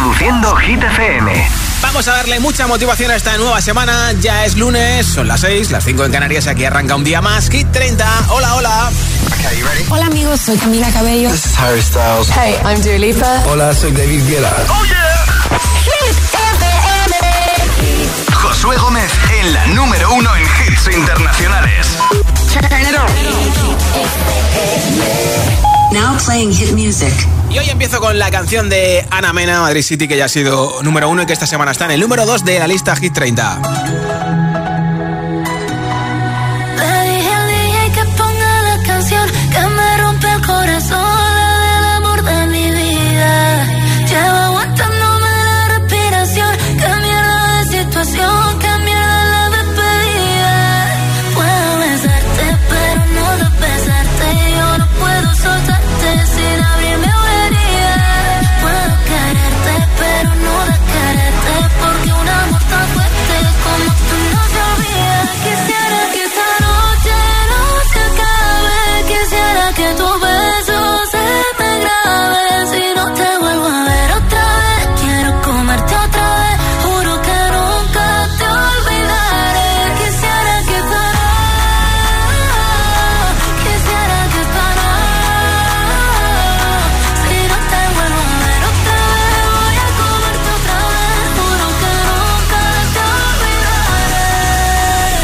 Reproduciendo Hit FM. Vamos a darle mucha motivación a esta nueva semana. Ya es lunes, son las 6, las 5 en Canarias. Aquí arranca un día más. Hit 30. Hola, hola. Okay, you ready? Hola amigos, soy Camila Cabello. This is Harry Styles. Hey, I'm Dua Lipa. Hola, soy David Guetta. ¡Oh, yeah! Hit FM. Josué Gómez en la número 1 en hits internacionales. Turn it on. Now playing hit music. Y hoy empiezo con la canción de Ana Mena, Madrid City, que ya ha sido número 1 y que esta semana está en el número 2 de la lista Hit 30. Le dije al DJ que ponga la canción que me rompe el corazón, la del amor de mi vida. Llevo aguantándome la respiración, qué mierda de situación, qué mierda la despedida. Puedo besarte, pero no de besarte, yo no puedo soltarte sin abrirme una herida. Puedo quererte, pero no de quererte, porque un amor tan fuerte como tú no se olvida. Quisiera que esta noche no se acabe, quisiera que tu beso se me grabe. Si no te vuelvo a ver otra vez, quiero comerte otra vez, juro que nunca te olvidaré. Quisiera que esta si no te vuelvo a ver otra vez, voy a comerte otra vez, juro que nunca te olvidaré.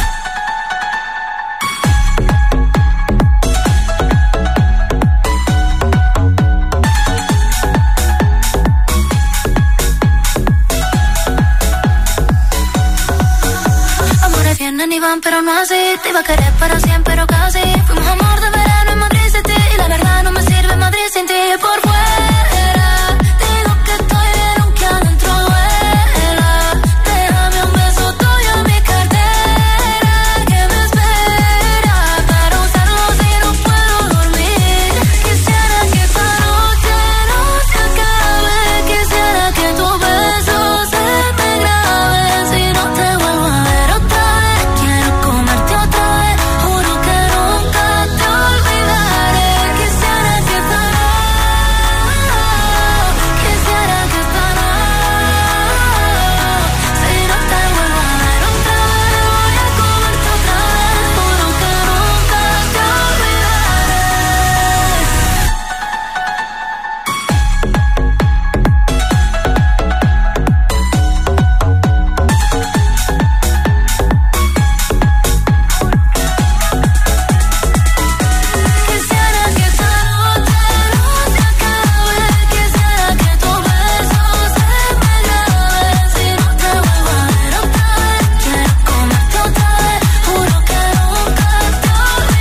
Amores vienen y van, pero no así. Te iba a querer para siempre, pero casi. Fuimos amor de verano en Madrid City, y la verdad no me sirve Madrid sin ti. Por fuera digo que estoy bien, aunque adentro duela. Déjame un beso tuyo en mi cartera, que me espera para usarlo si no puedo dormir. Quisiera que esta noche no se acabe, quisiera que tu beso se me grabe. Si no te vuelvo a ver otra vez, quiero comerte otra vez, juro que nunca te olvidaré. Quisiera que esta quisiera que esta si no te vuelvo a ver otra vez, voy a comerte otra vez, juro que nunca te Quisiera que esta noche no se acabe, quisiera que tu beso se me grabe. Si no te vuelvo a ver otra vez, quiero comerte otra vez, juro que nunca te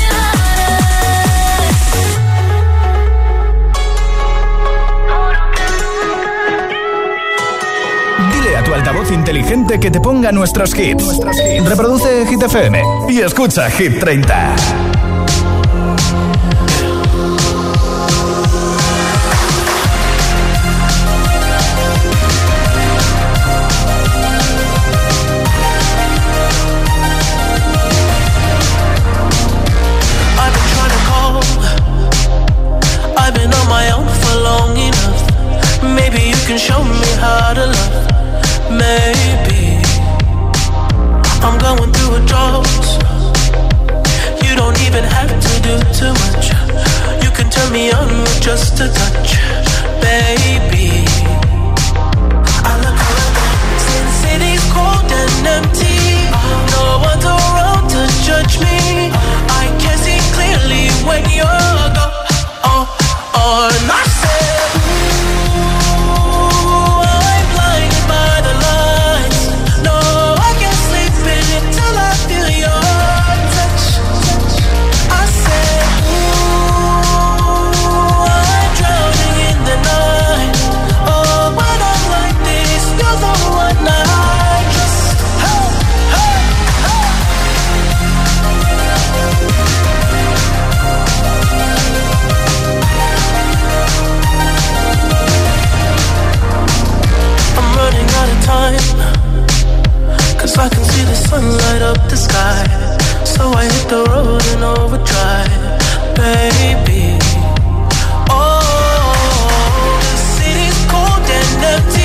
olvidaré. Dile a tu altavoz inteligente que te ponga nuestros hits. Reproduce Hit FM y escucha Hit 30. I've been trying to call, I've been on my own for long enough. Maybe you can show me how to love. Maybe I'm going through a drought. You don't even have to do too much. You can turn me on with just a touch, baby. I look around, since city's cold and empty, no one's around to judge me. I can see clearly when you're gone. And I said, ooh, I'm blinded by the lights. No, I can't sleep until I feel your touch. I said, ooh, I'm drowning in the night. Oh, when I'm like this, you're the one I trust. Hey, hey, hey. I'm running out of time, 'cause I can see the sun light up the sky. So I hit the road in overdrive, baby. Oh, the city's cold and empty.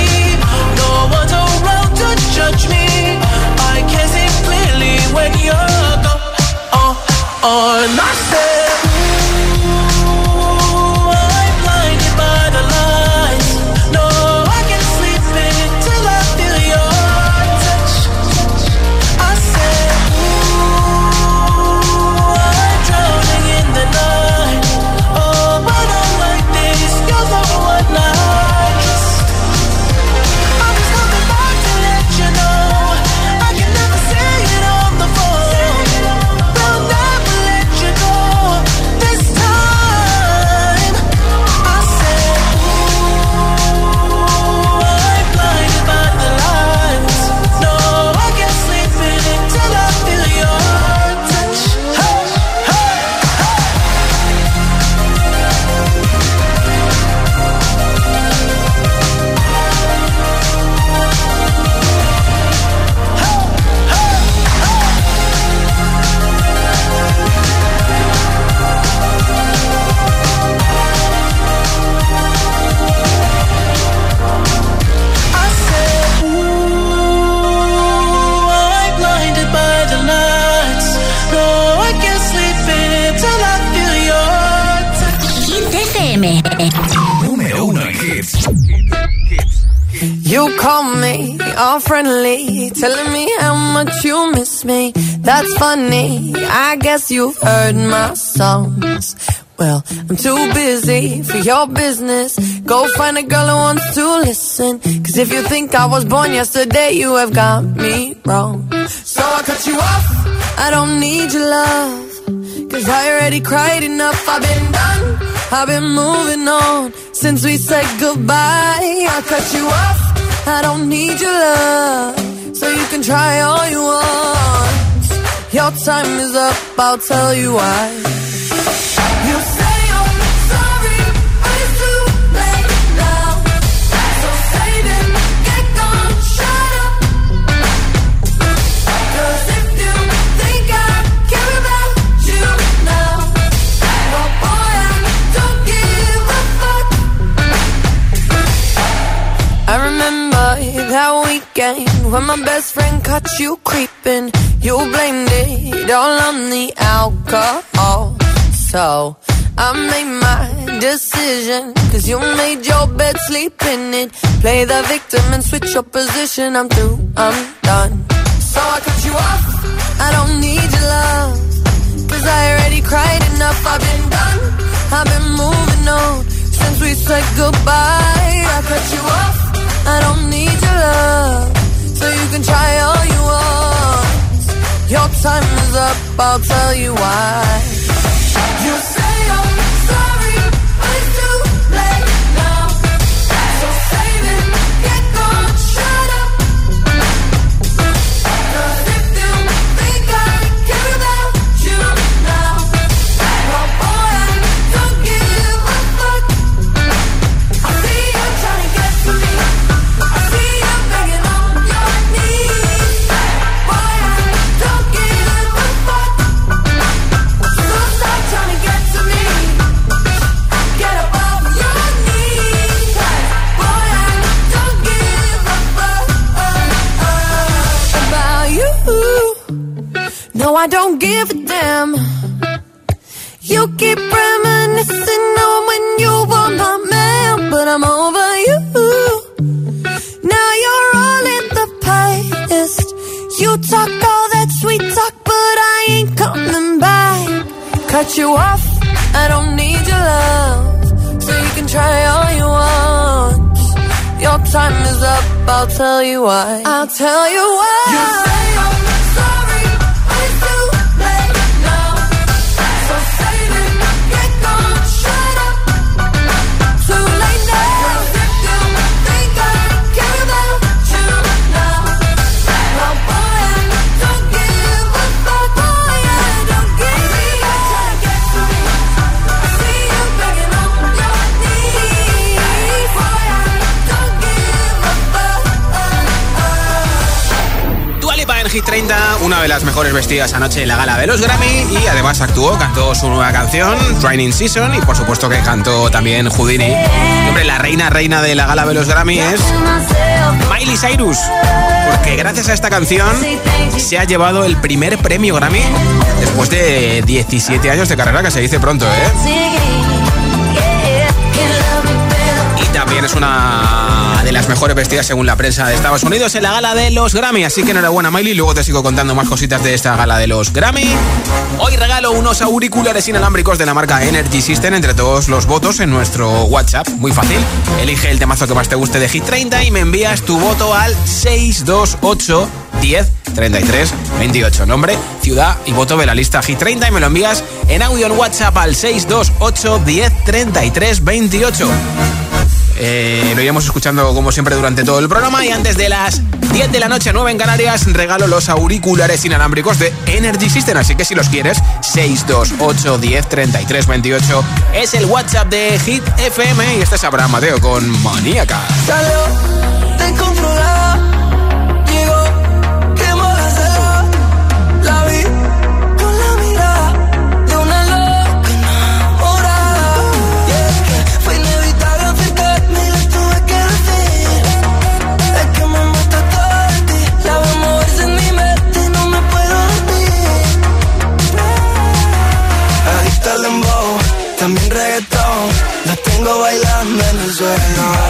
Hits. You call me all friendly, telling me how much you miss me. That's funny, I guess you've heard my songs. Well, I'm too busy for your business. Go find a girl who wants to listen. Cause if you think I was born yesterday, you have got me wrong. So I cut you off, I don't need your love. Cause I already cried enough, I've been done, I've been moving on. Since we said goodbye, I cut you off, I don't need your love. So you can try all you want. Your time is up, I'll tell you why. You say I'm sorry, but it's too late now. So save it, get gone, shut up. Cause if you think I care about you now, well boy, I don't give a fuck. I remember that weekend when my best friend caught you creeping. You blamed it all on the alcohol. So I made my decision, cause you made your bed, sleep in it. Play the victim and switch your position. I'm through, I'm done. So I cut you off, I don't need your love. Cause I already cried enough, I've been done, I've been moving on. Since we said goodbye, I cut you off, I don't need your love. So you can try all you want. Your time is up, I'll tell you why. You say I'm sorry, but it's too late now. So save it, get gone, shut up. Cause if you think I care about you now, well boy, I don't give a fuck. I see you trying to get to me, I see you begging on your knees. Boy, I don't give a fuck. So stop trying to get to me, get up off your knees. Boy, I don't give a fuck about you. No, I don't give a damn. You keep reminiscing on when you were my man, but I'm over you. Now you're all in the past. You talk all that sweet talk, but I ain't coming back. Cut you off, I don't need your love. So you can try all you want. Your time is up, I'll tell you why. I'll tell you why. You say I'm sorry, but it's too late now. So save it, get gone, shut up. Too late now. If you think I care about you now, well boy, I don't give a fuck. Boy, I don't give a fuck. Try to get to me, I see you begging on your knees. Boy, I don't give a fuck. Dua Lipa en Hit 30, una de las mejores vestidas anoche en la gala de los Grammy, y además cantó su nueva canción, Training Season, y por supuesto que cantó también Houdini. Y hombre, la reina de la gala de los Grammy es Miley Cyrus, porque gracias a esta canción se ha llevado el primer premio Grammy después de 17 años de carrera, que se dice pronto, ¿eh? Y también es una de las mejores vestidas según la prensa de Estados Unidos en la gala de los Grammy. Así que enhorabuena, Miley. Luego te sigo contando más cositas de esta gala de los Grammy. Hoy regalo unos auriculares inalámbricos de la marca Energy System entre todos los votos en nuestro WhatsApp. Muy fácil. Elige el temazo que más te guste de Hit 30 y me envías tu voto al 628 10 33 28. Nombre, ciudad y voto de la lista Hit 30 y me lo envías en audio en WhatsApp al 628 10 33 28. Lo iremos escuchando como siempre durante todo el programa, y antes de las 10 de la noche, 9 en Canarias, regalo los auriculares inalámbricos de Energy System, así que si los quieres, 628 10 33 28 es el WhatsApp de Hit FM, y este es Abraham Mateo con Maníaca. Salió descontrolada, llegó, quemó la sala, la vi con la mirada de una loca enamorada. Y es que fue inevitable acercarme y le tuve que decir, es que me mata todo de ti, la veo moverse en mi mente y no me puedo dormir. Adicta al dembow, también reggaetón, la tengo bailando en el suelo.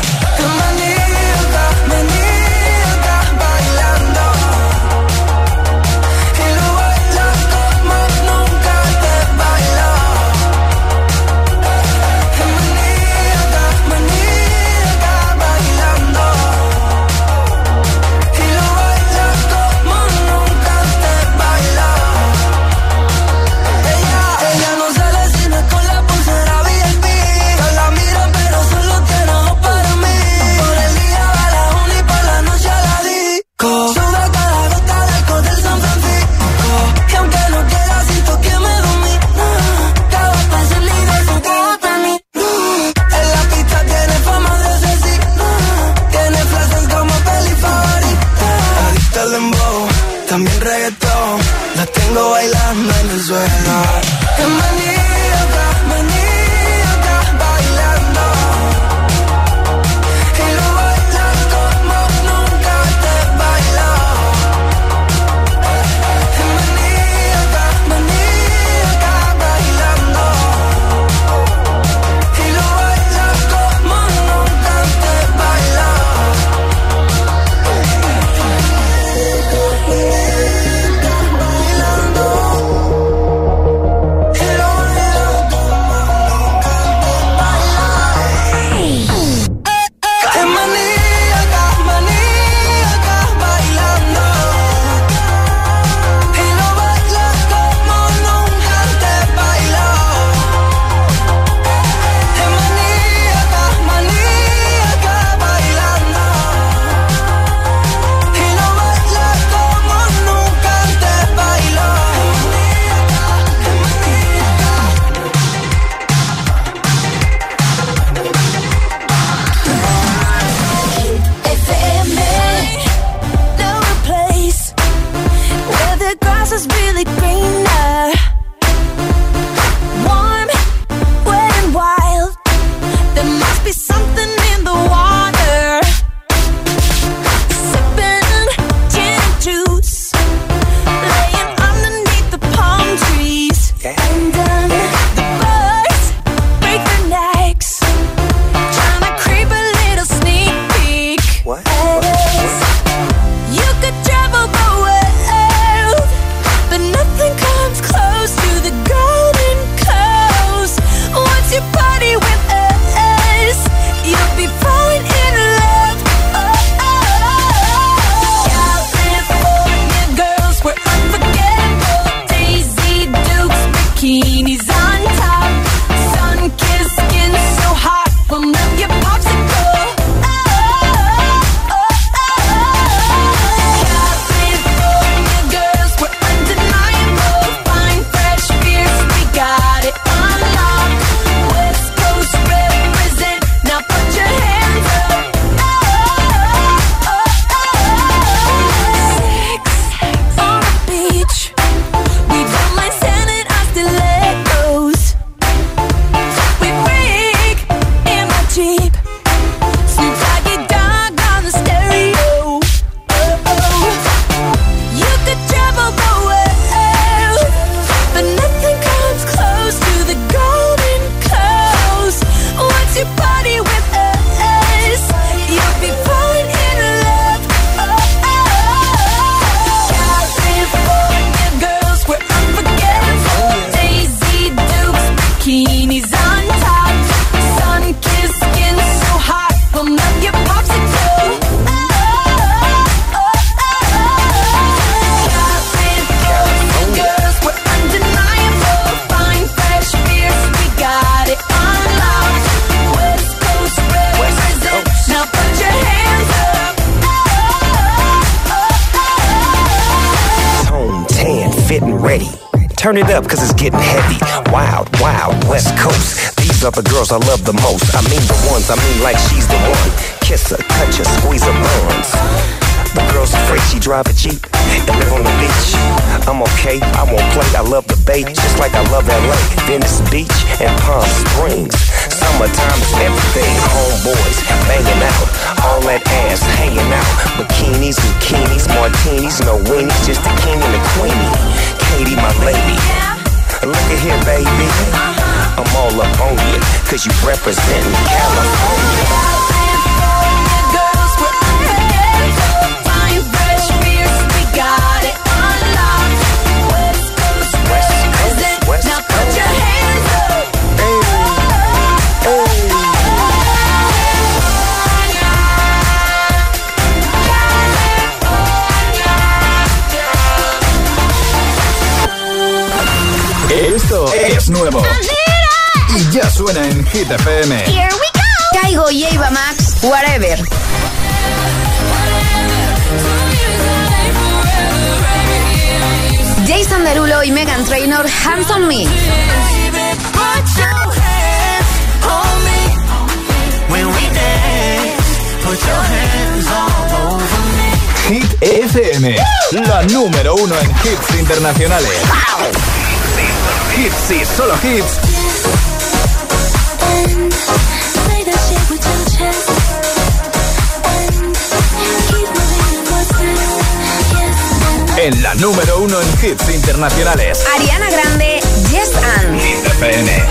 turn it up cause it's getting heavy. Wild, wild, West Coast. These are the girls I love the most. I mean the ones, I mean like she's the one. Kiss her, touch her, squeeze her buns. The girl's afraid she drive a Jeep and live on the beach. I'm okay, I won't play, I love the bay, just like I love LA, Venice Beach and Palm Springs. Summertime is everything, homeboys banging out, all that ass hanging out. Bikinis, bikinis, martinis, no weenies, just the king and the queenie. Katie, my lady, look at here, baby. I'm all up on you, cause you representing California. Esto es nuevo y ya suena en Hit FM. Here we go. Caigo y Ava Max, Whatever. Jason Derulo y Meghan Trainor, Hands on Me. Hit FM, la número 1 en hits internacionales. Hits y solo hits. En la número 1 en hits internacionales. Ariana Grande, Yes and. Hit FM.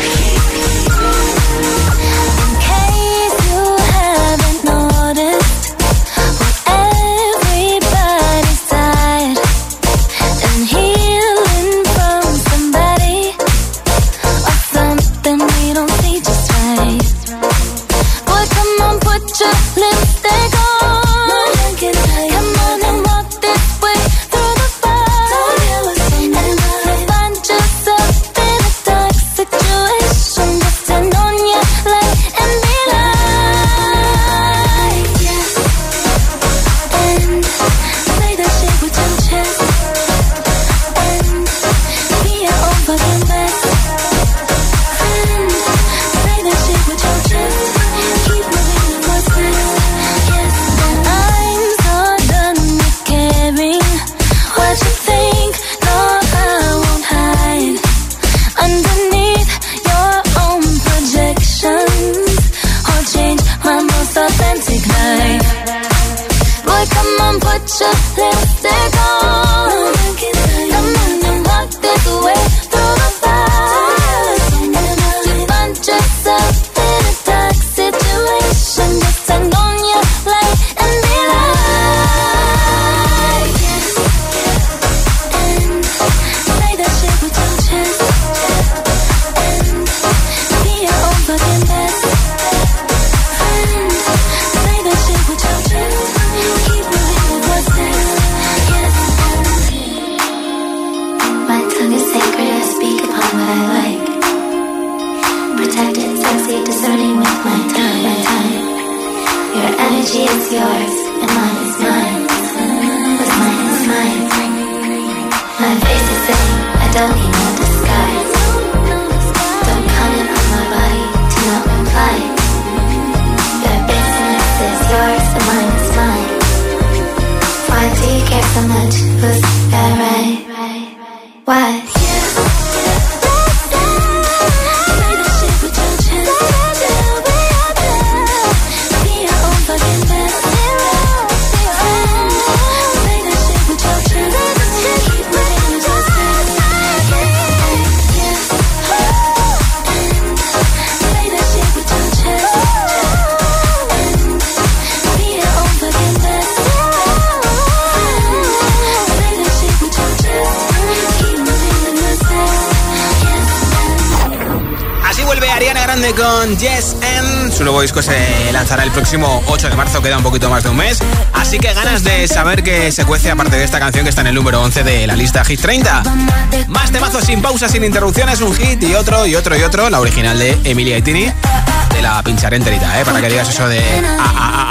Con Yes and su nuevo disco se lanzará el próximo 8 de marzo, queda un poquito más de un mes, así que ganas de saber qué se cuece aparte de esta canción que está en el número 11 de la lista Hit 30. Más temazos sin pausa, sin interrupciones, un hit y otro y otro y otro, la original de Emilia y Tini, te la pincharé enterita, para que digas eso de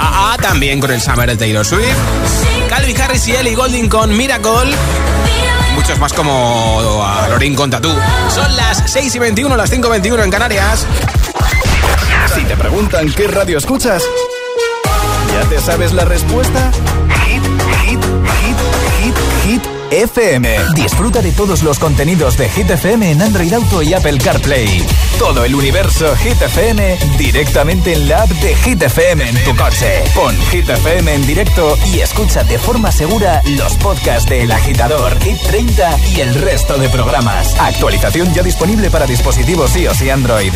también con el Summer de Taylor Swift, Calvin Harris y Ellie Goulding con Miracle. muchos más como a Lorín con Tatú. Son las 6:21, las 5:21 en Canarias. Si te preguntan qué radio escuchas, ¿ya te sabes la respuesta? Hit FM. Disfruta de todos los contenidos de Hit FM en Android Auto y Apple CarPlay. Todo el universo Hit FM directamente en la app de Hit FM en tu coche. Pon Hit FM en directo y escucha de forma segura los podcasts de El Agitador, Hit 30 y el resto de programas. Actualización ya disponible para dispositivos iOS y Android.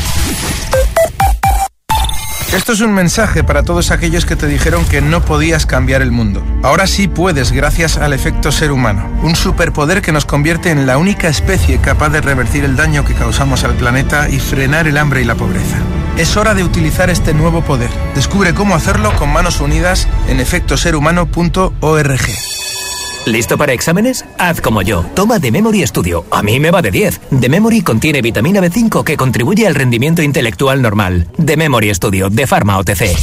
Esto es un mensaje para todos aquellos que te dijeron que no podías cambiar el mundo. Ahora sí puedes, gracias al efecto ser humano, un superpoder que nos convierte en la única especie capaz de revertir el daño que causamos al planeta y frenar el hambre y la pobreza. Es hora de utilizar este nuevo poder. Descubre cómo hacerlo con manos unidas en efectoserhumano.org. ¿Listo para exámenes? Haz como yo. Toma The Memory Studio. A mí me va de 10. The Memory contiene vitamina B5 que contribuye al rendimiento intelectual normal. The Memory Studio, de Pharma OTC.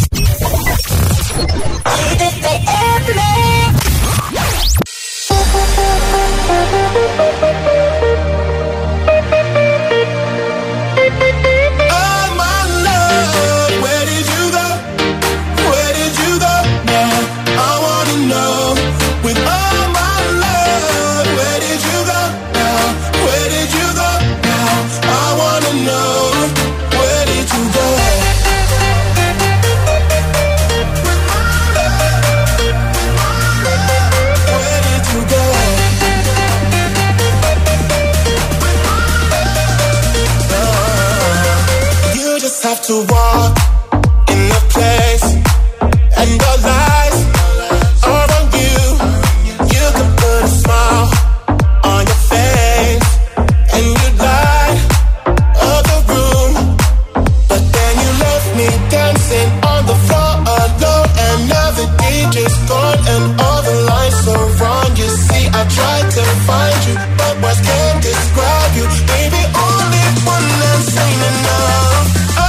To walk in the place and the lights are on you. You can put a smile on your face and you light up the room, but then you left me dancing on the floor alone, and now the DJ's gone and all the lights are wrong. You see, I tried to find you, but words can't describe you. Baby, only one that's ain't enough.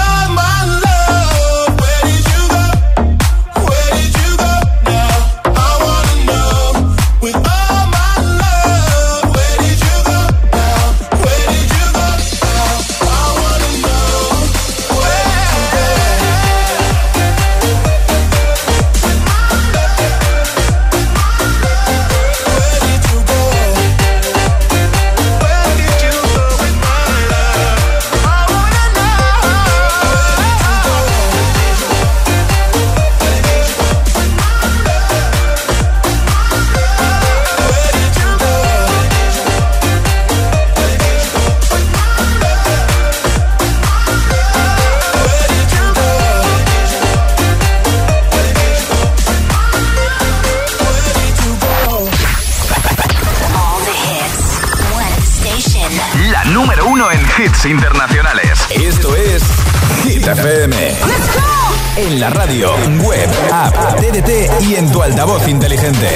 Hits internacionales. Esto es Hit FM. En la radio, web, app, TDT y en tu altavoz inteligente.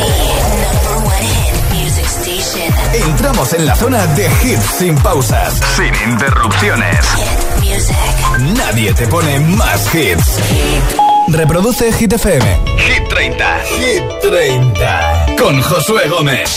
Entramos en la zona de hits sin pausas, sin interrupciones. Nadie te pone más hits. Reproduce Hit FM. Hit 30. Hit 30. Con Josué Gómez.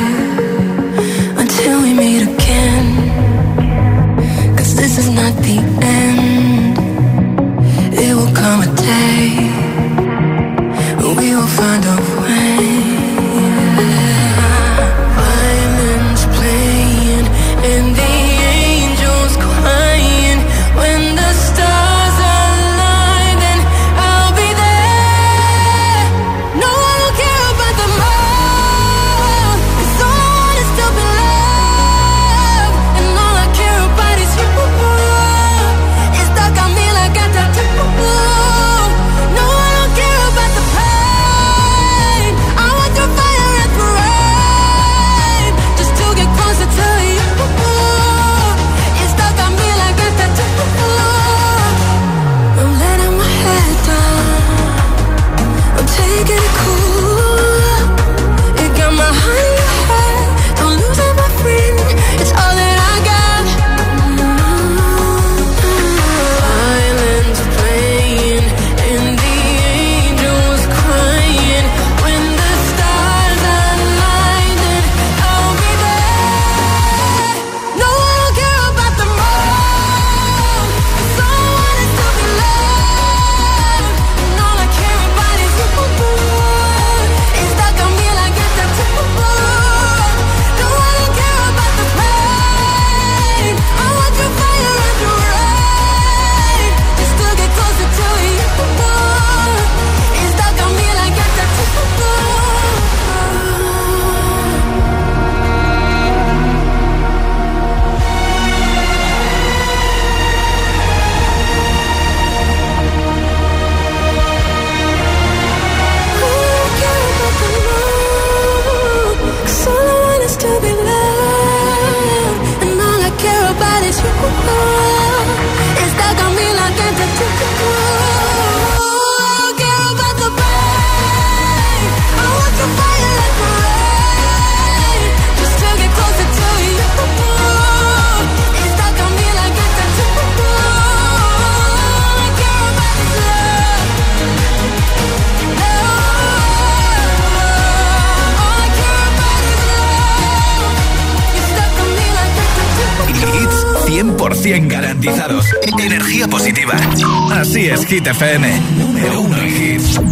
Until we meet again, 'cause this is not the 100% garantizados. Energía positiva. Así es, Hit FM. Número 1 en hits.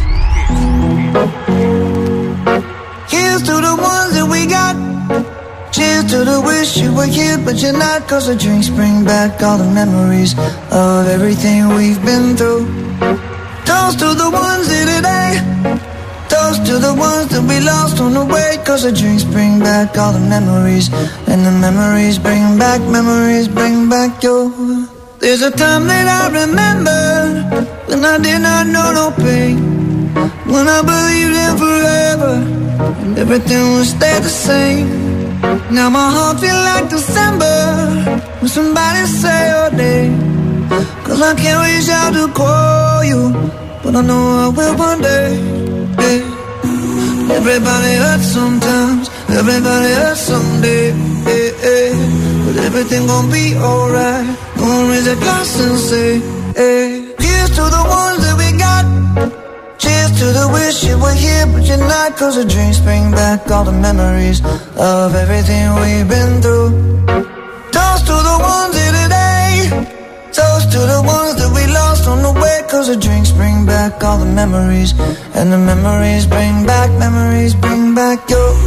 Here's to the ones that we got. Cheers to the wish you were here, but you're not. 'Cause the drinks bring back all the memories of everything we've been through. Toast to the ones here today. Toast to the ones that we lost on the way. 'Cause the drinks bring back all the memories. And the memories bring back your. There's a time that I remember when I did not know no pain. When I believed in forever and everything would stay the same. Now my heart feels like December when somebody say your name. 'Cause I can't reach out to call you, but I know I will one day. Yeah. Everybody hurts sometimes, everybody hurts someday. Yeah. But everything gon' be alright. Gonna raise a glass and say, hey. Here's to the ones that we got. Cheers to the wish you were here, but you're not. 'Cause the drinks bring back all the memories of everything we've been through. Toast to the ones here today. Toast to the ones that we lost on the way. 'Cause the drinks bring back all the memories. And the memories bring back your. Memories bring back,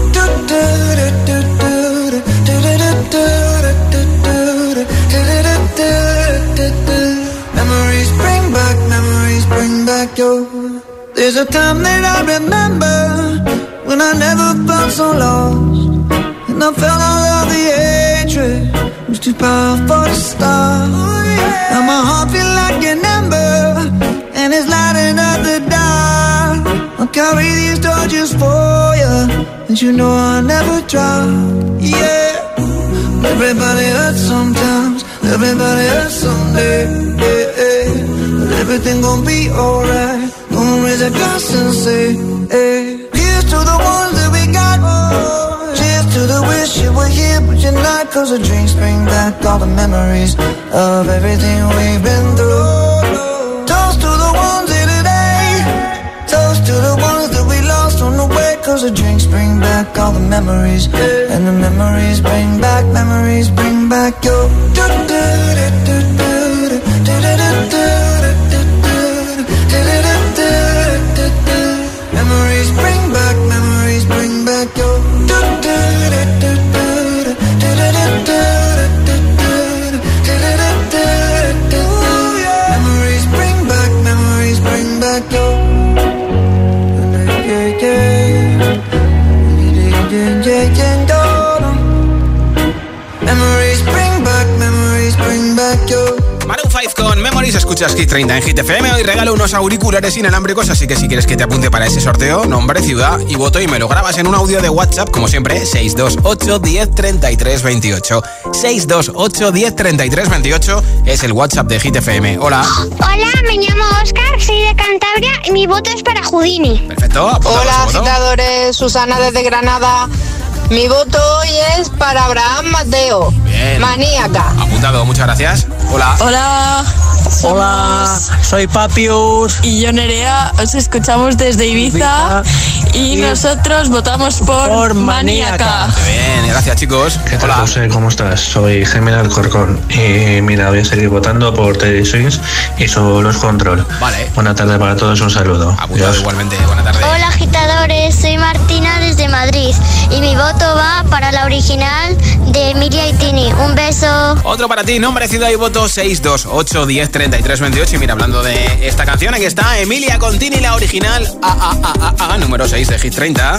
memories bring back your. There's a time that I remember when I never felt so lost. And I felt all of the hatred was too powerful to stop. Now my heart feels like an ember and it's lighting up the dark. I'll carry these torches for you, and you know I'll never drop. Yeah. Everybody hurts sometimes, everybody hurts someday. Yeah. But everything gon' be alright. Gonna raise a glass and say, hey. Here's to the ones that we got. Cheers to the wish you were here, but you're not. 'Cause the drinks bring back all the memories of everything we've been through. Toast to the ones here today. Toast to the ones that we lost on the way. 'Cause the drinks bring back all the memories. And the memories bring back your. Memories bring back, memories bring back your. Memories bring back your. Memories bring back your. Maroon 5 con Memories, escuchas Hit 30 en Hit FM. Hoy regalo unos auriculares inalámbricos, así que si quieres que te apunte para ese sorteo, nombre, ciudad y voto, y me lo grabas en un audio de WhatsApp, como siempre, 628 10 33 28. 628 10 33 28 es el WhatsApp de Hit FM. Hola. Hola, me llamo Oscar, soy de Cantabria y mi voto es para Houdini. Perfecto. Hola, agitadores, Susana desde Granada. Mi voto hoy es para Abraham Mateo. Bien. Maníaca. Apuntado, muchas gracias. Hola. Hola. Hola, soy Papius. Y yo Nerea, os escuchamos desde Ibiza. Y nosotros votamos por Maníaca. Bien, gracias chicos. ¿Qué tal, Hola. José? ¿Cómo estás? Soy Gemma Alcorcón. Y mira, voy a seguir votando por Teddy Swings y Solos Control. Vale. Buena tarde para todos, un saludo. Apuntado igualmente, buena tarde. Hola agitadores, soy Martina desde Madrid y mi voto va para la original de Emilia y Tini. Un beso. Otro para ti, nombre, ciudad y voto 628 10 33 28. Y mira, hablando de esta canción, aquí está Emilia con Tini, la original número 6 de Hit 30.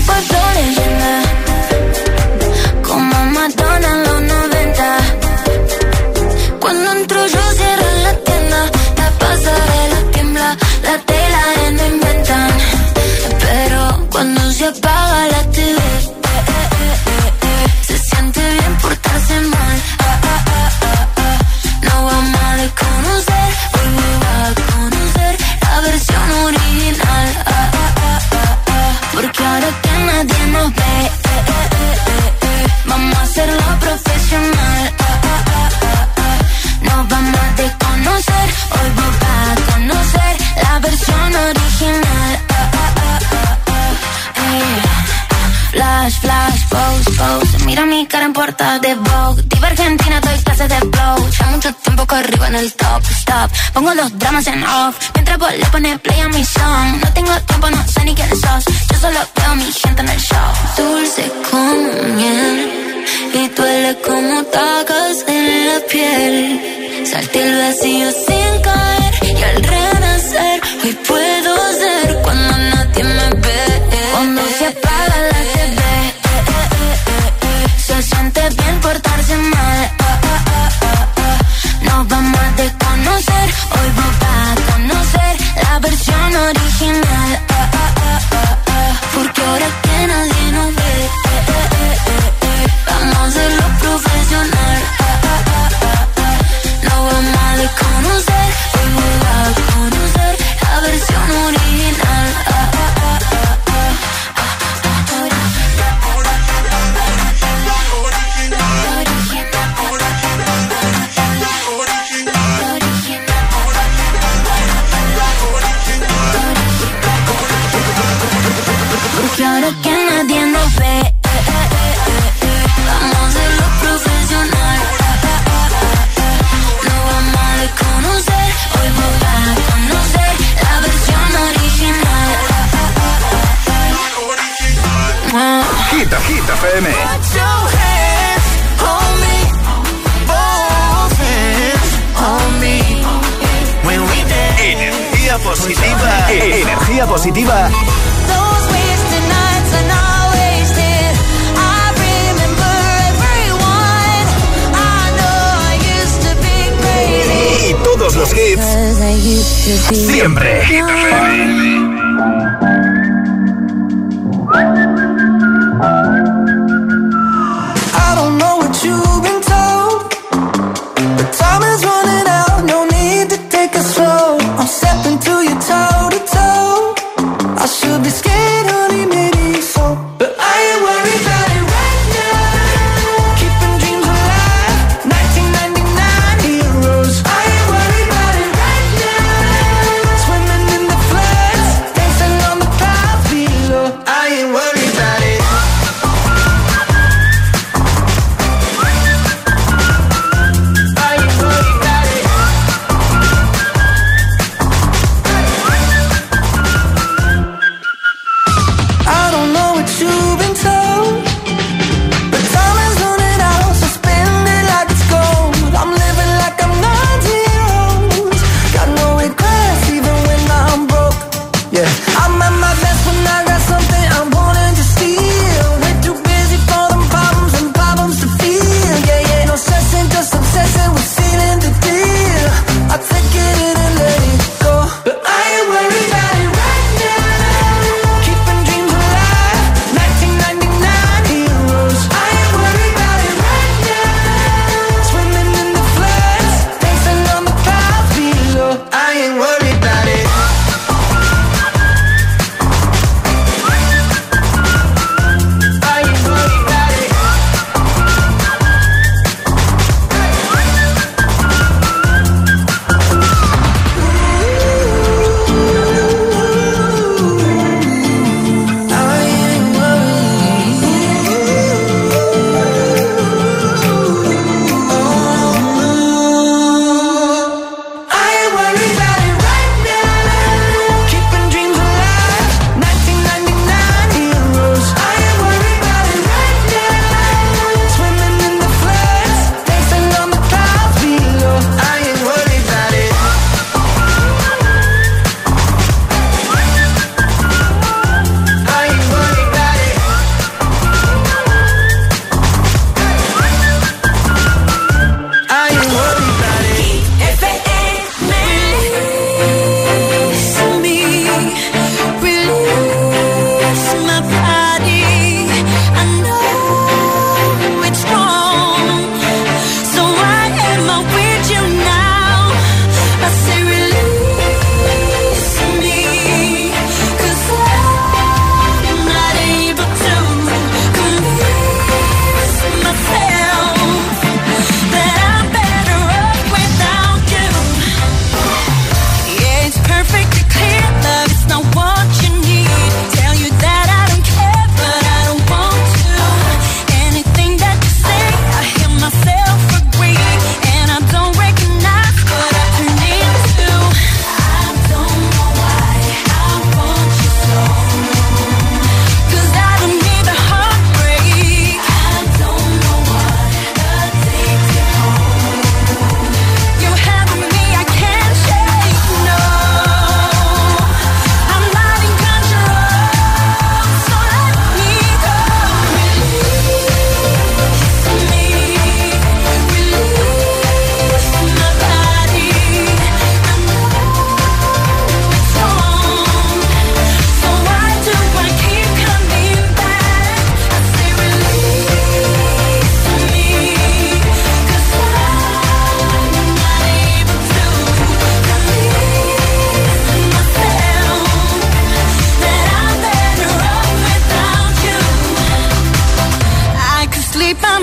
Como Madonna en los 90. Cuando entro yo cierran la tienda, la pasarela tiembla, la tela no inventan. Pero cuando se apaga la TV, se siente bien portarse mal. No vamos a desconocer, hoy va a conocer la versión original. Porque ahora que nadie nos ve, mi cara en portada de Vogue. Diva argentina, doy clases de flow. Ya mucho tiempo que arriba en el top, stop. Pongo los dramas en off, mientras vos le pones play a mi song. No tengo tiempo, no sé ni quién sos. Yo solo veo a mi gente en el show. Dulce como miel y duele como tacas en la piel. Salté el vacío sin caer y al renacer hoy puedo ser cuando nadie me ve. Cuando se apaga la TV, se siente bien portarse mal. Nos vamos a desconocer, hoy vos vas a conocer la versión original. Porque ahora que nadie nos ve, vamos a hacerlo profesional. Nos vamos a desconocer, hoy vos vas a conocer la versión original. Porque ahora que nadie nos ve, vamos a hacerlo profesional. Lo vamos a desconocer, hoy vos vas a conocer la versión original. Hit FM. Put your hands on me, both hands on me. When we dance. Energía positiva. Energía positiva. Those wasted nights are not wasted. I remember everyone. I know I used to be crazy. Y todos los hits. Siempre. Hit FM. I don't know what you've been told, but time is running out, no need to take it slow. I'm stepping to you toe to toe. I should be scared, honey, maybe so, but I ain't worried about it right now. Keeping dreams alive, 1999 heroes. I ain't worried about it right now. Swimming in the floods,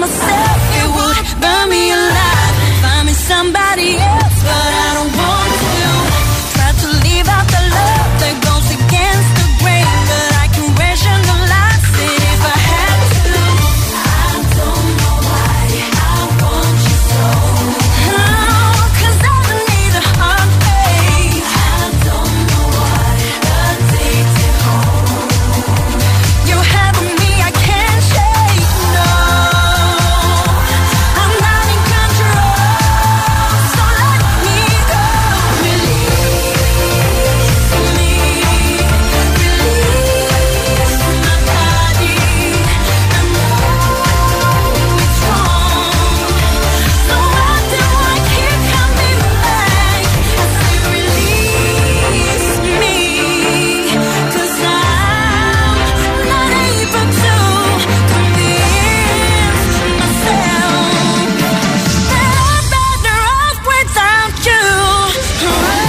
myself, it would burn me alive. Find me somebody else, but I don't want to. Try to leave out the love that goes against the grain, but I can rationalize it if I had to. I don't know why I want you so. Oh, 'cause I need a heartbeat. I don't know what addicted home. You have me, I can't shake, no. I'm not in control, so let me go. Release me, release my body. I know it's wrong, so why do I keep coming back? I say release me, 'cause I'm not able to convince myself that I'm better off without you. 'Cause I'm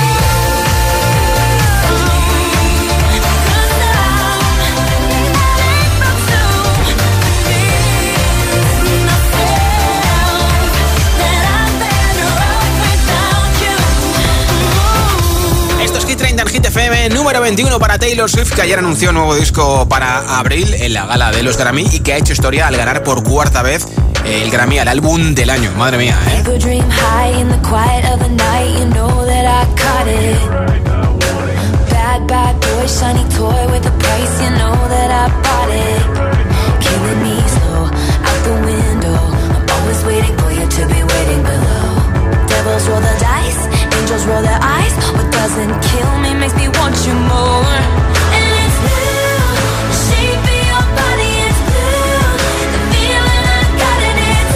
Esto es Hit 30 en Hit FM, número 21 para Taylor Swift, que ayer anunció un nuevo disco para abril en la gala de los Grammy y que ha hecho historia al ganar por cuarta vez el Grammy al álbum del año. Madre mía, ¿eh? Go dream high in the quiet of the night, you know that I caught it. Bad, bad boy, shiny toy with a price, you know that I bought it. Killing me slow, out the window. I'm always waiting for you to be waiting below. Devils roll the dice, angels roll their eyes. What doesn't kill me makes me want you more. And it's blue, the shape of your body is blue. The feeling I got in it's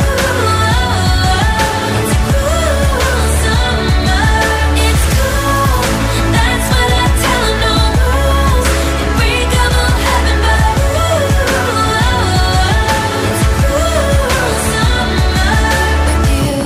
blue. It's a cool summer. It's cool, that's what I tell 'em, no rules. Unbreakable heaven, but it's a cool summer with you.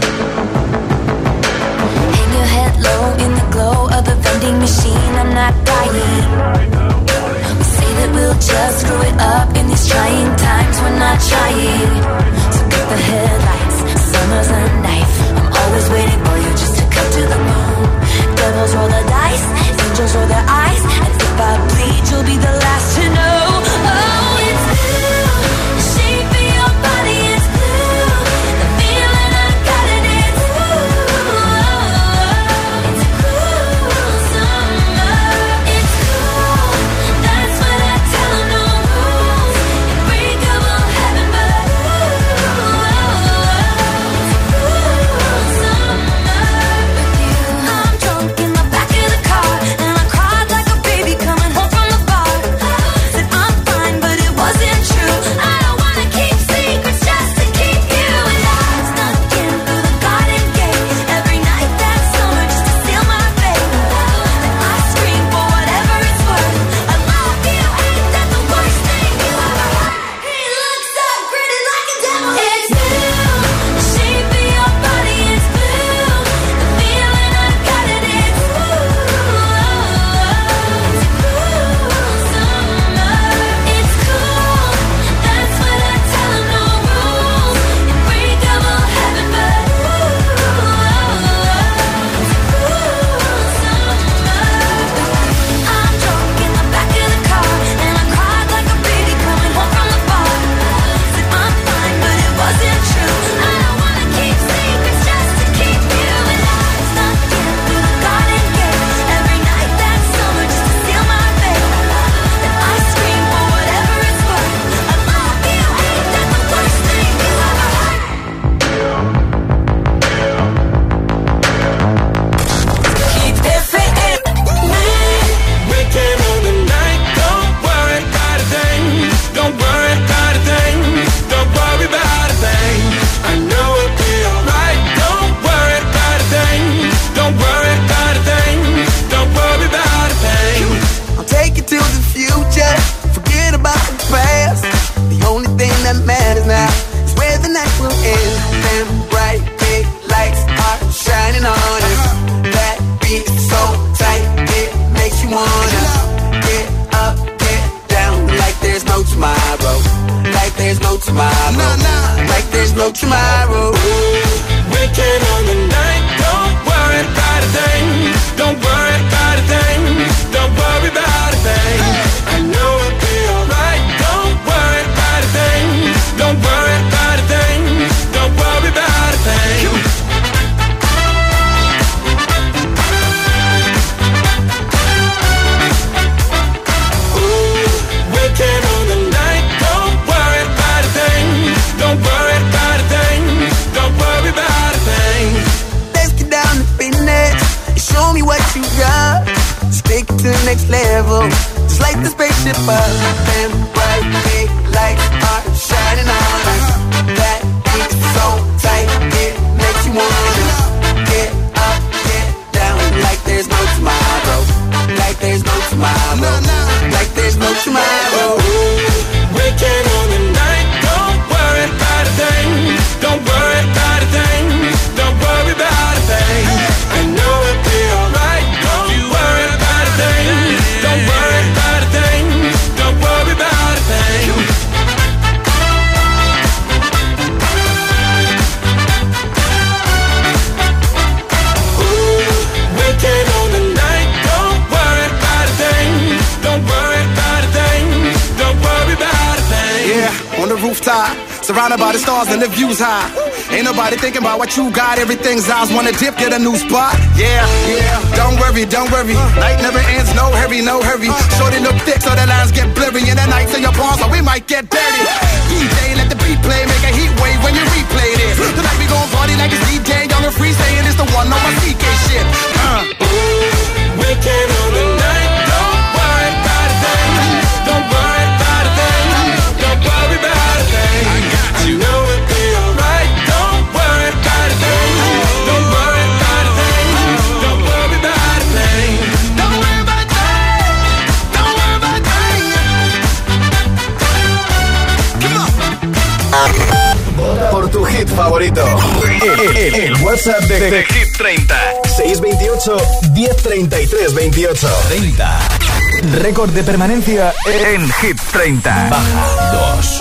Hang your head low in the glow of the vending machine. I'm not dying. We say that we'll just screw it up in these trying times. We're not trying. So cut the headlights. Summer's a knife. I'm always waiting for you just to cut to the bone. Devils roll the dice. Angels roll their eyes. And if I bleed, you'll be the last to know. Oh, it's blue. The shape of your body is blue. The feeling I got in it's blue. It's a cool summer. It's cool, that's what I tell 'em, no rules. Unbreakable heaven, but it's a cool summer with you. I'm drunk in the back of the car, and I cried like a baby coming home from the bar. Said I'm fine, but it wasn't true. I don't wanna keep secrets just to keep you. And I snuck in through the garden gate every night that summer just to seal my fate. Then I scream for whatever it's worth. I love you, ain't that the worst thing you ever heard? He looks so pretty like a devil. It's blue, the shape of your body is blue. The feeling I got in it's blue. It's a cool summer. It's cool, that's what I tell 'em, no rules. Unbreakable heaven, but it's a cool summer. I'm drunk in the back of the car, and I cried like a baby coming home from the bar. Said I'm fine, but it wasn't true. I don't wanna keep secrets just to keep you. And I snuck in through the garden gate every night that summer just to seal my fate. Then I scream for whatever it's worth. I love you, ain't that the worst thing you ever heard? Keep FM. We came on the night. Don't worry about a thing. Don't worry about a thing. Don't worry about a thing. I know it'll be alright. Don't worry about a thing. Don't worry about a thing. Don't worry about a thing. I'll take you to the future. Forget about the past. The only thing that matters now is where the night will end. Them bright big lights are shining on us. That beat is so tight, it makes you wanna get up, get down, like there's no tomorrow, like there's no tomorrow. Like there's no tomorrow. Weekend on the night, don't worry about a thing. Don't worry about a thing. Don't worry about a thing. I know it'll be alright. Don't worry about a thing. Don't worry about a thing. Don't worry about a thing. Show me what you got. Just take it to the next level. Just like the spaceship up and bright big lights are shining on us. That heat so tight it makes you wanna get up, get down. Like there's no tomorrow. Like there's no tomorrow. Like there's no tomorrow. Weekend on the night. Don't worry about a thing. Don't worry about a thing. Don't worry about a thing. I know it'll be alright. Don't you worry about a thing. Don't worry about a thing. Don't worry about a thing. Weekend on the night. Don't worry about a thing. Don't worry about a thing. Don't worry about a thing. Yeah, on the rooftop, surrounded by the stars and the views high. Ain't nobody thinking about what you got. Everything's eyes wanna dip, get a new spot. Yeah, yeah. Don't worry, don't worry. Night never ends, no hurry, no hurry. Shorty look thick so the lines get blurry. And the nights in your palms, so we might get dirty. DJ, let the beat play, make a heat wave when you replay this. Tonight we gon' party like it's DJ, young and free, saying it's the one on my CK shit. Weekend on the night. Don't worry about a thing. Don't worry about a thing. Don't worry about a thing. I got you. I know it'll be alright. Don't worry about a thing. Don't worry about a thing. Don't worry about a thing. Don't worry about a thing. Don't worry about a thing. Come on. Por tu hit favorito. El WhatsApp de Hit 30. 628 1033 28 30. Récord de permanencia en Hit 30. Baja 2.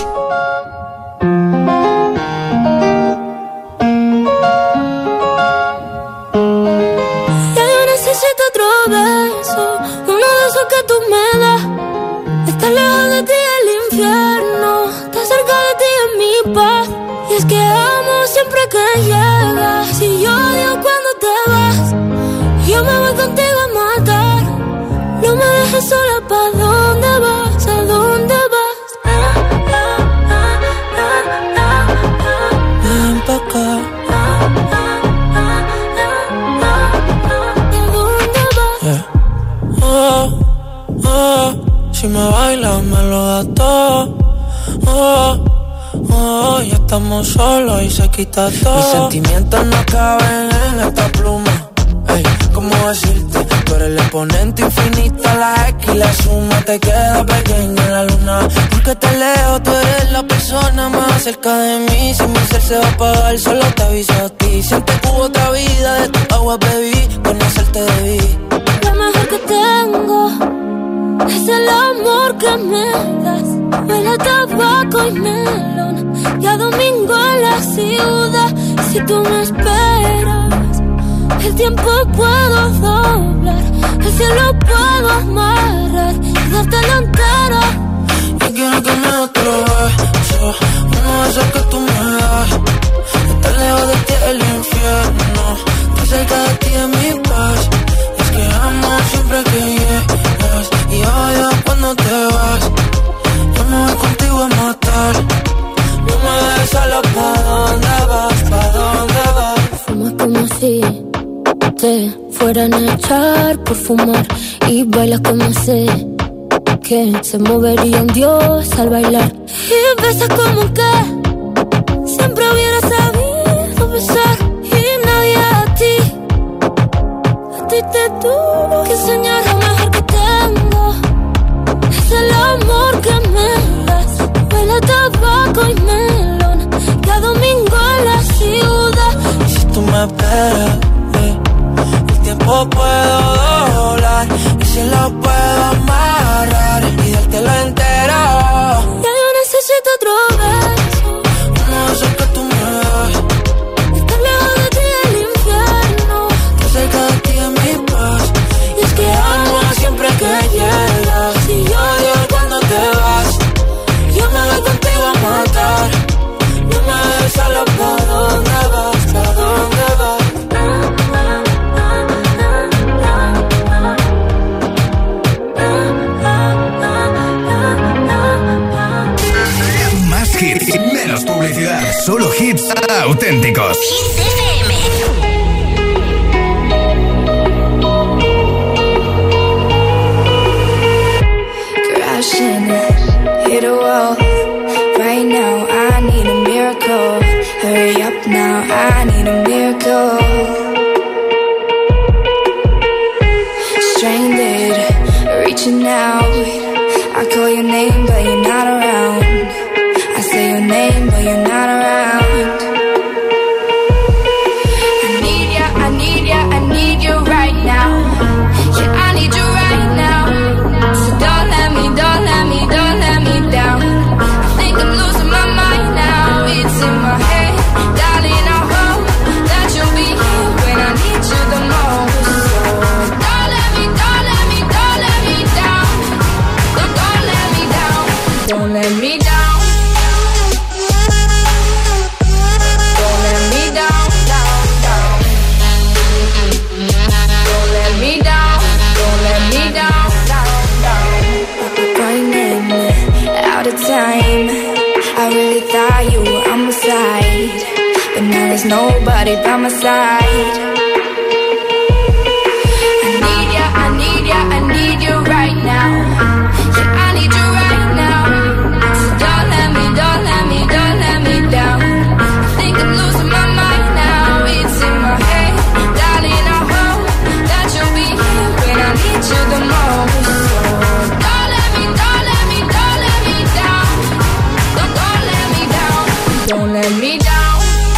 Ya yo necesito otro beso, uno de esos que tú me das. Estar lejos de ti es el infierno, estar cerca de ti es mi paz. Y es que amo siempre que llegas. Si yo odio cuando te vas, yo me voy contigo a matar. No me dejes sola, ¿pa' dónde vas? ¿A dónde vas? Ven pa' acá. ¿A dónde vas? Yeah. Si me bailas me lo das todo. Ya estamos solos y se quita todo. Mis sentimientos no caben en esta pluma. Ey, ¿cómo decirte? Tú eres el exponente infinito, la X y la suma te queda pequeña en la luna. Porque te leo, tú eres la persona más cerca de mí. Si mi ser se va a apagar, solo te aviso a ti. Siento que hubo otra vida, de tu agua bebí, conocerte debí. Lo mejor que tengo es el amor que me das. Huele a tabaco y melón, y a domingo en la ciudad. Si tú me esperas, el tiempo puedo doblar, el cielo puedo amarrar y dártelo entero. Yo quiero que me des otro beso, uno de esos que tú me das. Estar lejos de ti es el infierno, estar cerca de ti es mi paz. Y es que amo siempre que llegas, y odio cuando te vas. Yo me voy contigo a matar. No me dejes solo, ¿pa' dónde vas? ¿Pa' dónde vas? Fumas como si te fueran a echar por fumar, y bailas como sé que se movería un dios al bailar. Y besas como que siempre hubiera sabido besar. Y nadie a ti te tuvo que enseñar. Lo mejor que tengo es el amor que me das. Huele a tabaco y melón, cada domingo en la ciudad. Y si tú me esperas, el tiempo puedo doblar, y si lo puedo amarrar y dártelo entero. Ya yo necesito otro beso, hits auténticos. Hit FM. Crashing, hit a wall. Right now, I need a miracle. Hurry up now, I need a miracle. Stranded, reaching out. I call your name, but you're not around. I say your name, but you're not around. I need ya, I need ya, I need you right now. Yeah, I need you right now. So don't let me down. I think I'm losing my mind now. It's in my head, darling. I hope that you'll be here when I need you the most. So don't let me down. Don't let me down. Don't let me down. Don't let me down. Don't let me down. Running out of time. I really thought you were on my side, but now there's nobody by my side. I need ya, I need ya, I need you right now. Yeah, I need you right now. So don't let me down. I think I'm losing my mind now. It's in my head, darling. I hope that you'll be here when I need you the most. So don't let me down. Don't let me down. Don't let me down.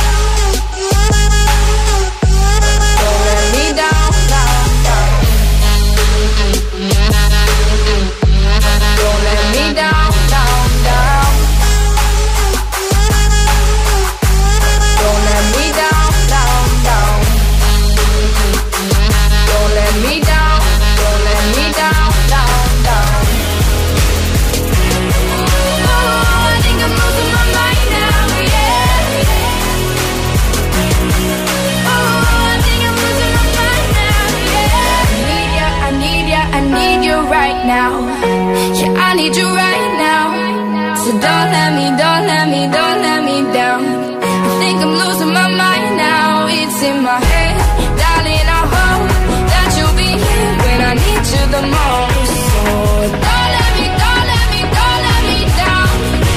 Now, yeah, I need you right now. So don't let me down. I think I'm losing my mind now. It's in my head, darling. I hope that you'll be here when I need you the most. So don't let me down. Don't let me down.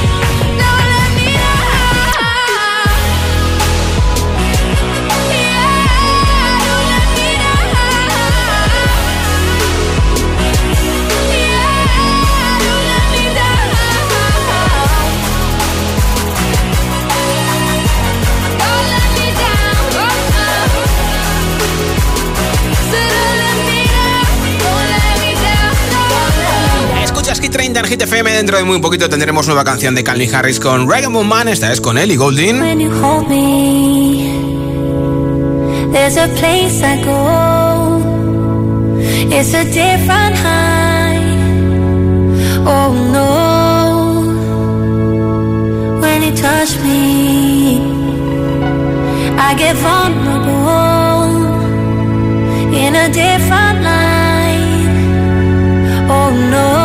Hit 30 en Hit FM. Dentro de muy poquito tendremos nueva canción de Calvin Harris con Reggae Man. Esta es con Ellie Goulding. When you hold me, there's a place I go. It's a different high. Oh no. When you touch me, I get vulnerable in a different light. Oh no.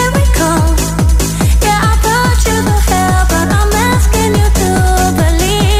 Believe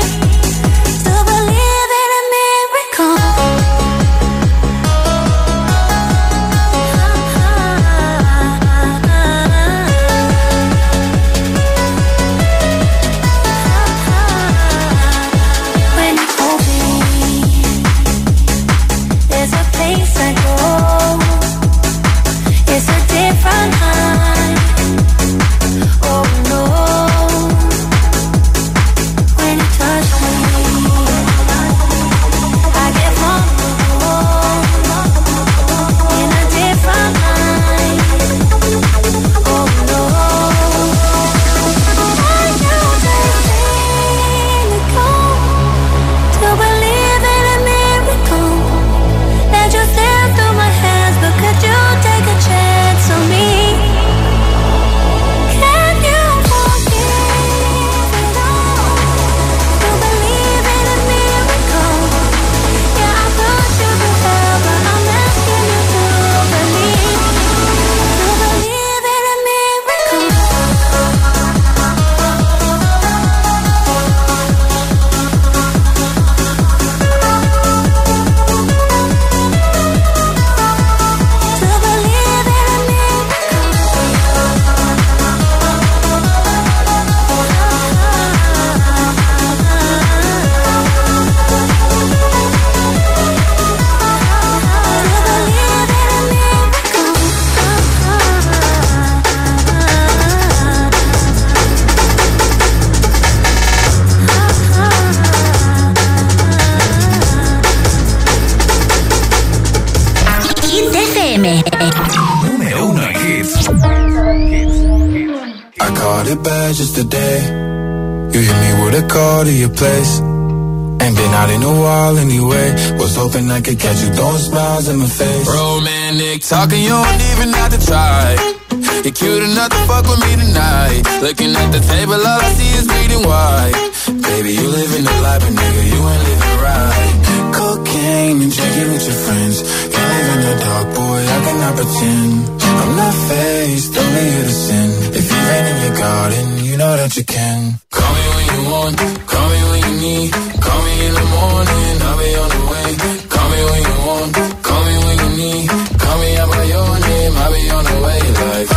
I caught it bad just today. You hit me with a call to your place. Ain't been out in a while anyway. Was hoping I could catch you throwing smiles in my face. Romantic talking, you don't even have to try. You're cute enough to fuck with me tonight. Looking at the table, all I see is bleeding white. Baby, you living the life, but nigga, you ain't living right. Cocaine and drinking with your friends. You live in the dark, boy, I cannot pretend. I'm not faced, only here to sin. If you rain in your garden, you know that you can. Call me when you want, call me when you need. Call me in the morning, I'll be on the way. Call me when you want, call me when you need. Call me out by your name, I'll be on the way. Like,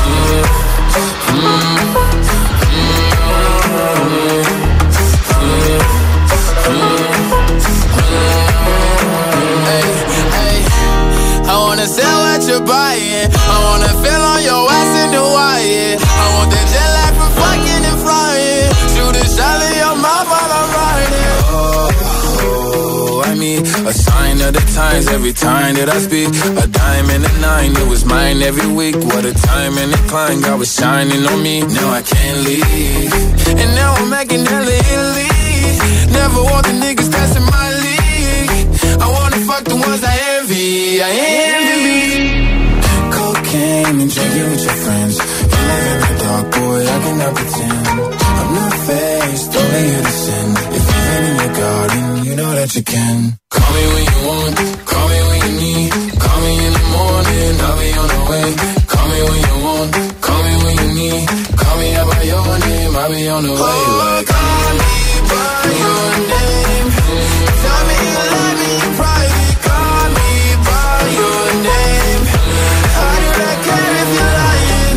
I wanna sell what you're buying. I wanna feel on your ass in the wire. I want that jet lag from fucking and flying. Shoot a shot in your mouth while I'm riding. Oh, I mean, a sign of the times every time that I speak. A dime and a nine, it was mine every week. What a time and a climb, God was shining on me. Now I can't leave, and now I'm making hella Italy. Never want the niggas that's in my league. I wanna fuck the ones I envy. I envy. Cocaine and drinking with your friends. You live in the dark, boy, I cannot pretend. I'm not faced, only here to sin. If you're in your garden, you know that you can. call me when you want, call me when you need. Call me in the morning, I'll be on the way. Call me when you want, call me when you need. Call me out by your name, I'll be on the way. Like, call me by your name. Tell me you love me in private. Call me by your name. I do not care if you're lying.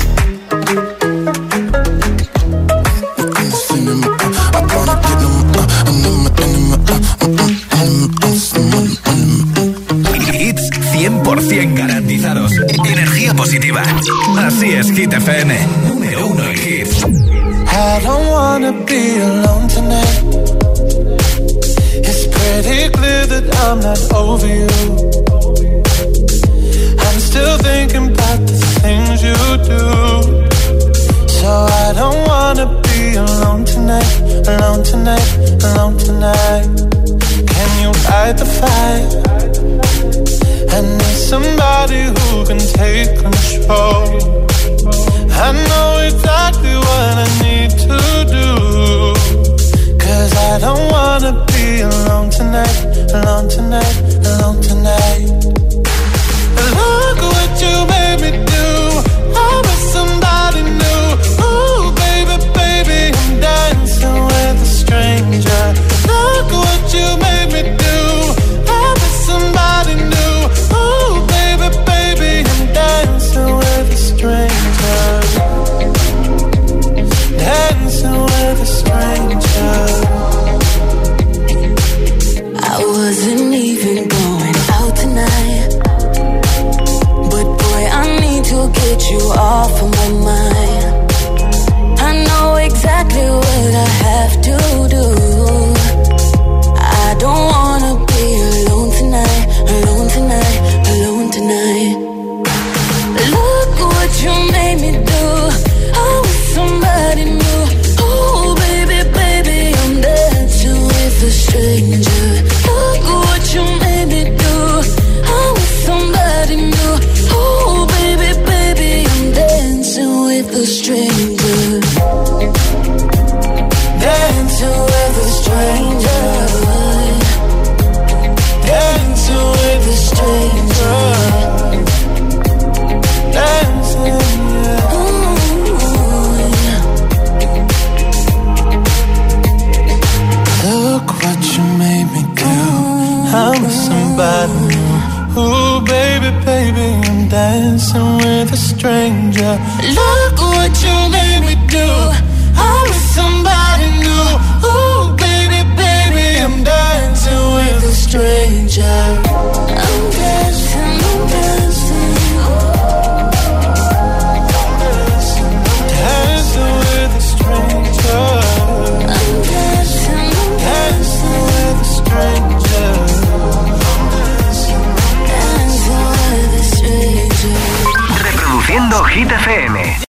Hits 100% garantizados. Energía positiva. Así es, Hit FM. Número 1 en hits. I don't wanna be alone tonight. It's pretty clear that I'm not over you. I'm still thinking about the things you do. So I don't wanna be alone tonight, alone tonight, alone tonight. Can you fight the fight? I need somebody who can take control. I know exactly what I need to do. 'Cause I don't wanna be alone tonight, alone tonight, alone tonight. Look what you made me do. I'm with somebody new. Ooh, baby, baby, I'm dancing with a stranger. Look what you made me do. I'm with somebody new. Ooh, baby, baby, I'm dancing with a stranger. Dancing with a stranger. I wasn't even going out tonight, but boy, I need to get you off of my mind. I know exactly what I have to do. I don't wanna be alone tonight, alone tonight, alone tonight. Look what you made me do. I'm with somebody new. Oh, baby, baby, I'm dancing with a stranger. Look what you made me do. I'm with somebody new. Oh, baby, baby, I'm dancing with a stranger. Dancing with a stranger. Dancing with a stranger. Dancing, yeah. Look what you made me do. I'm with somebody new. Ooh, baby, baby, I'm dancing with a stranger. Look what you made me do. I'm with somebody new. Ooh, baby, baby, I'm dancing with a stranger.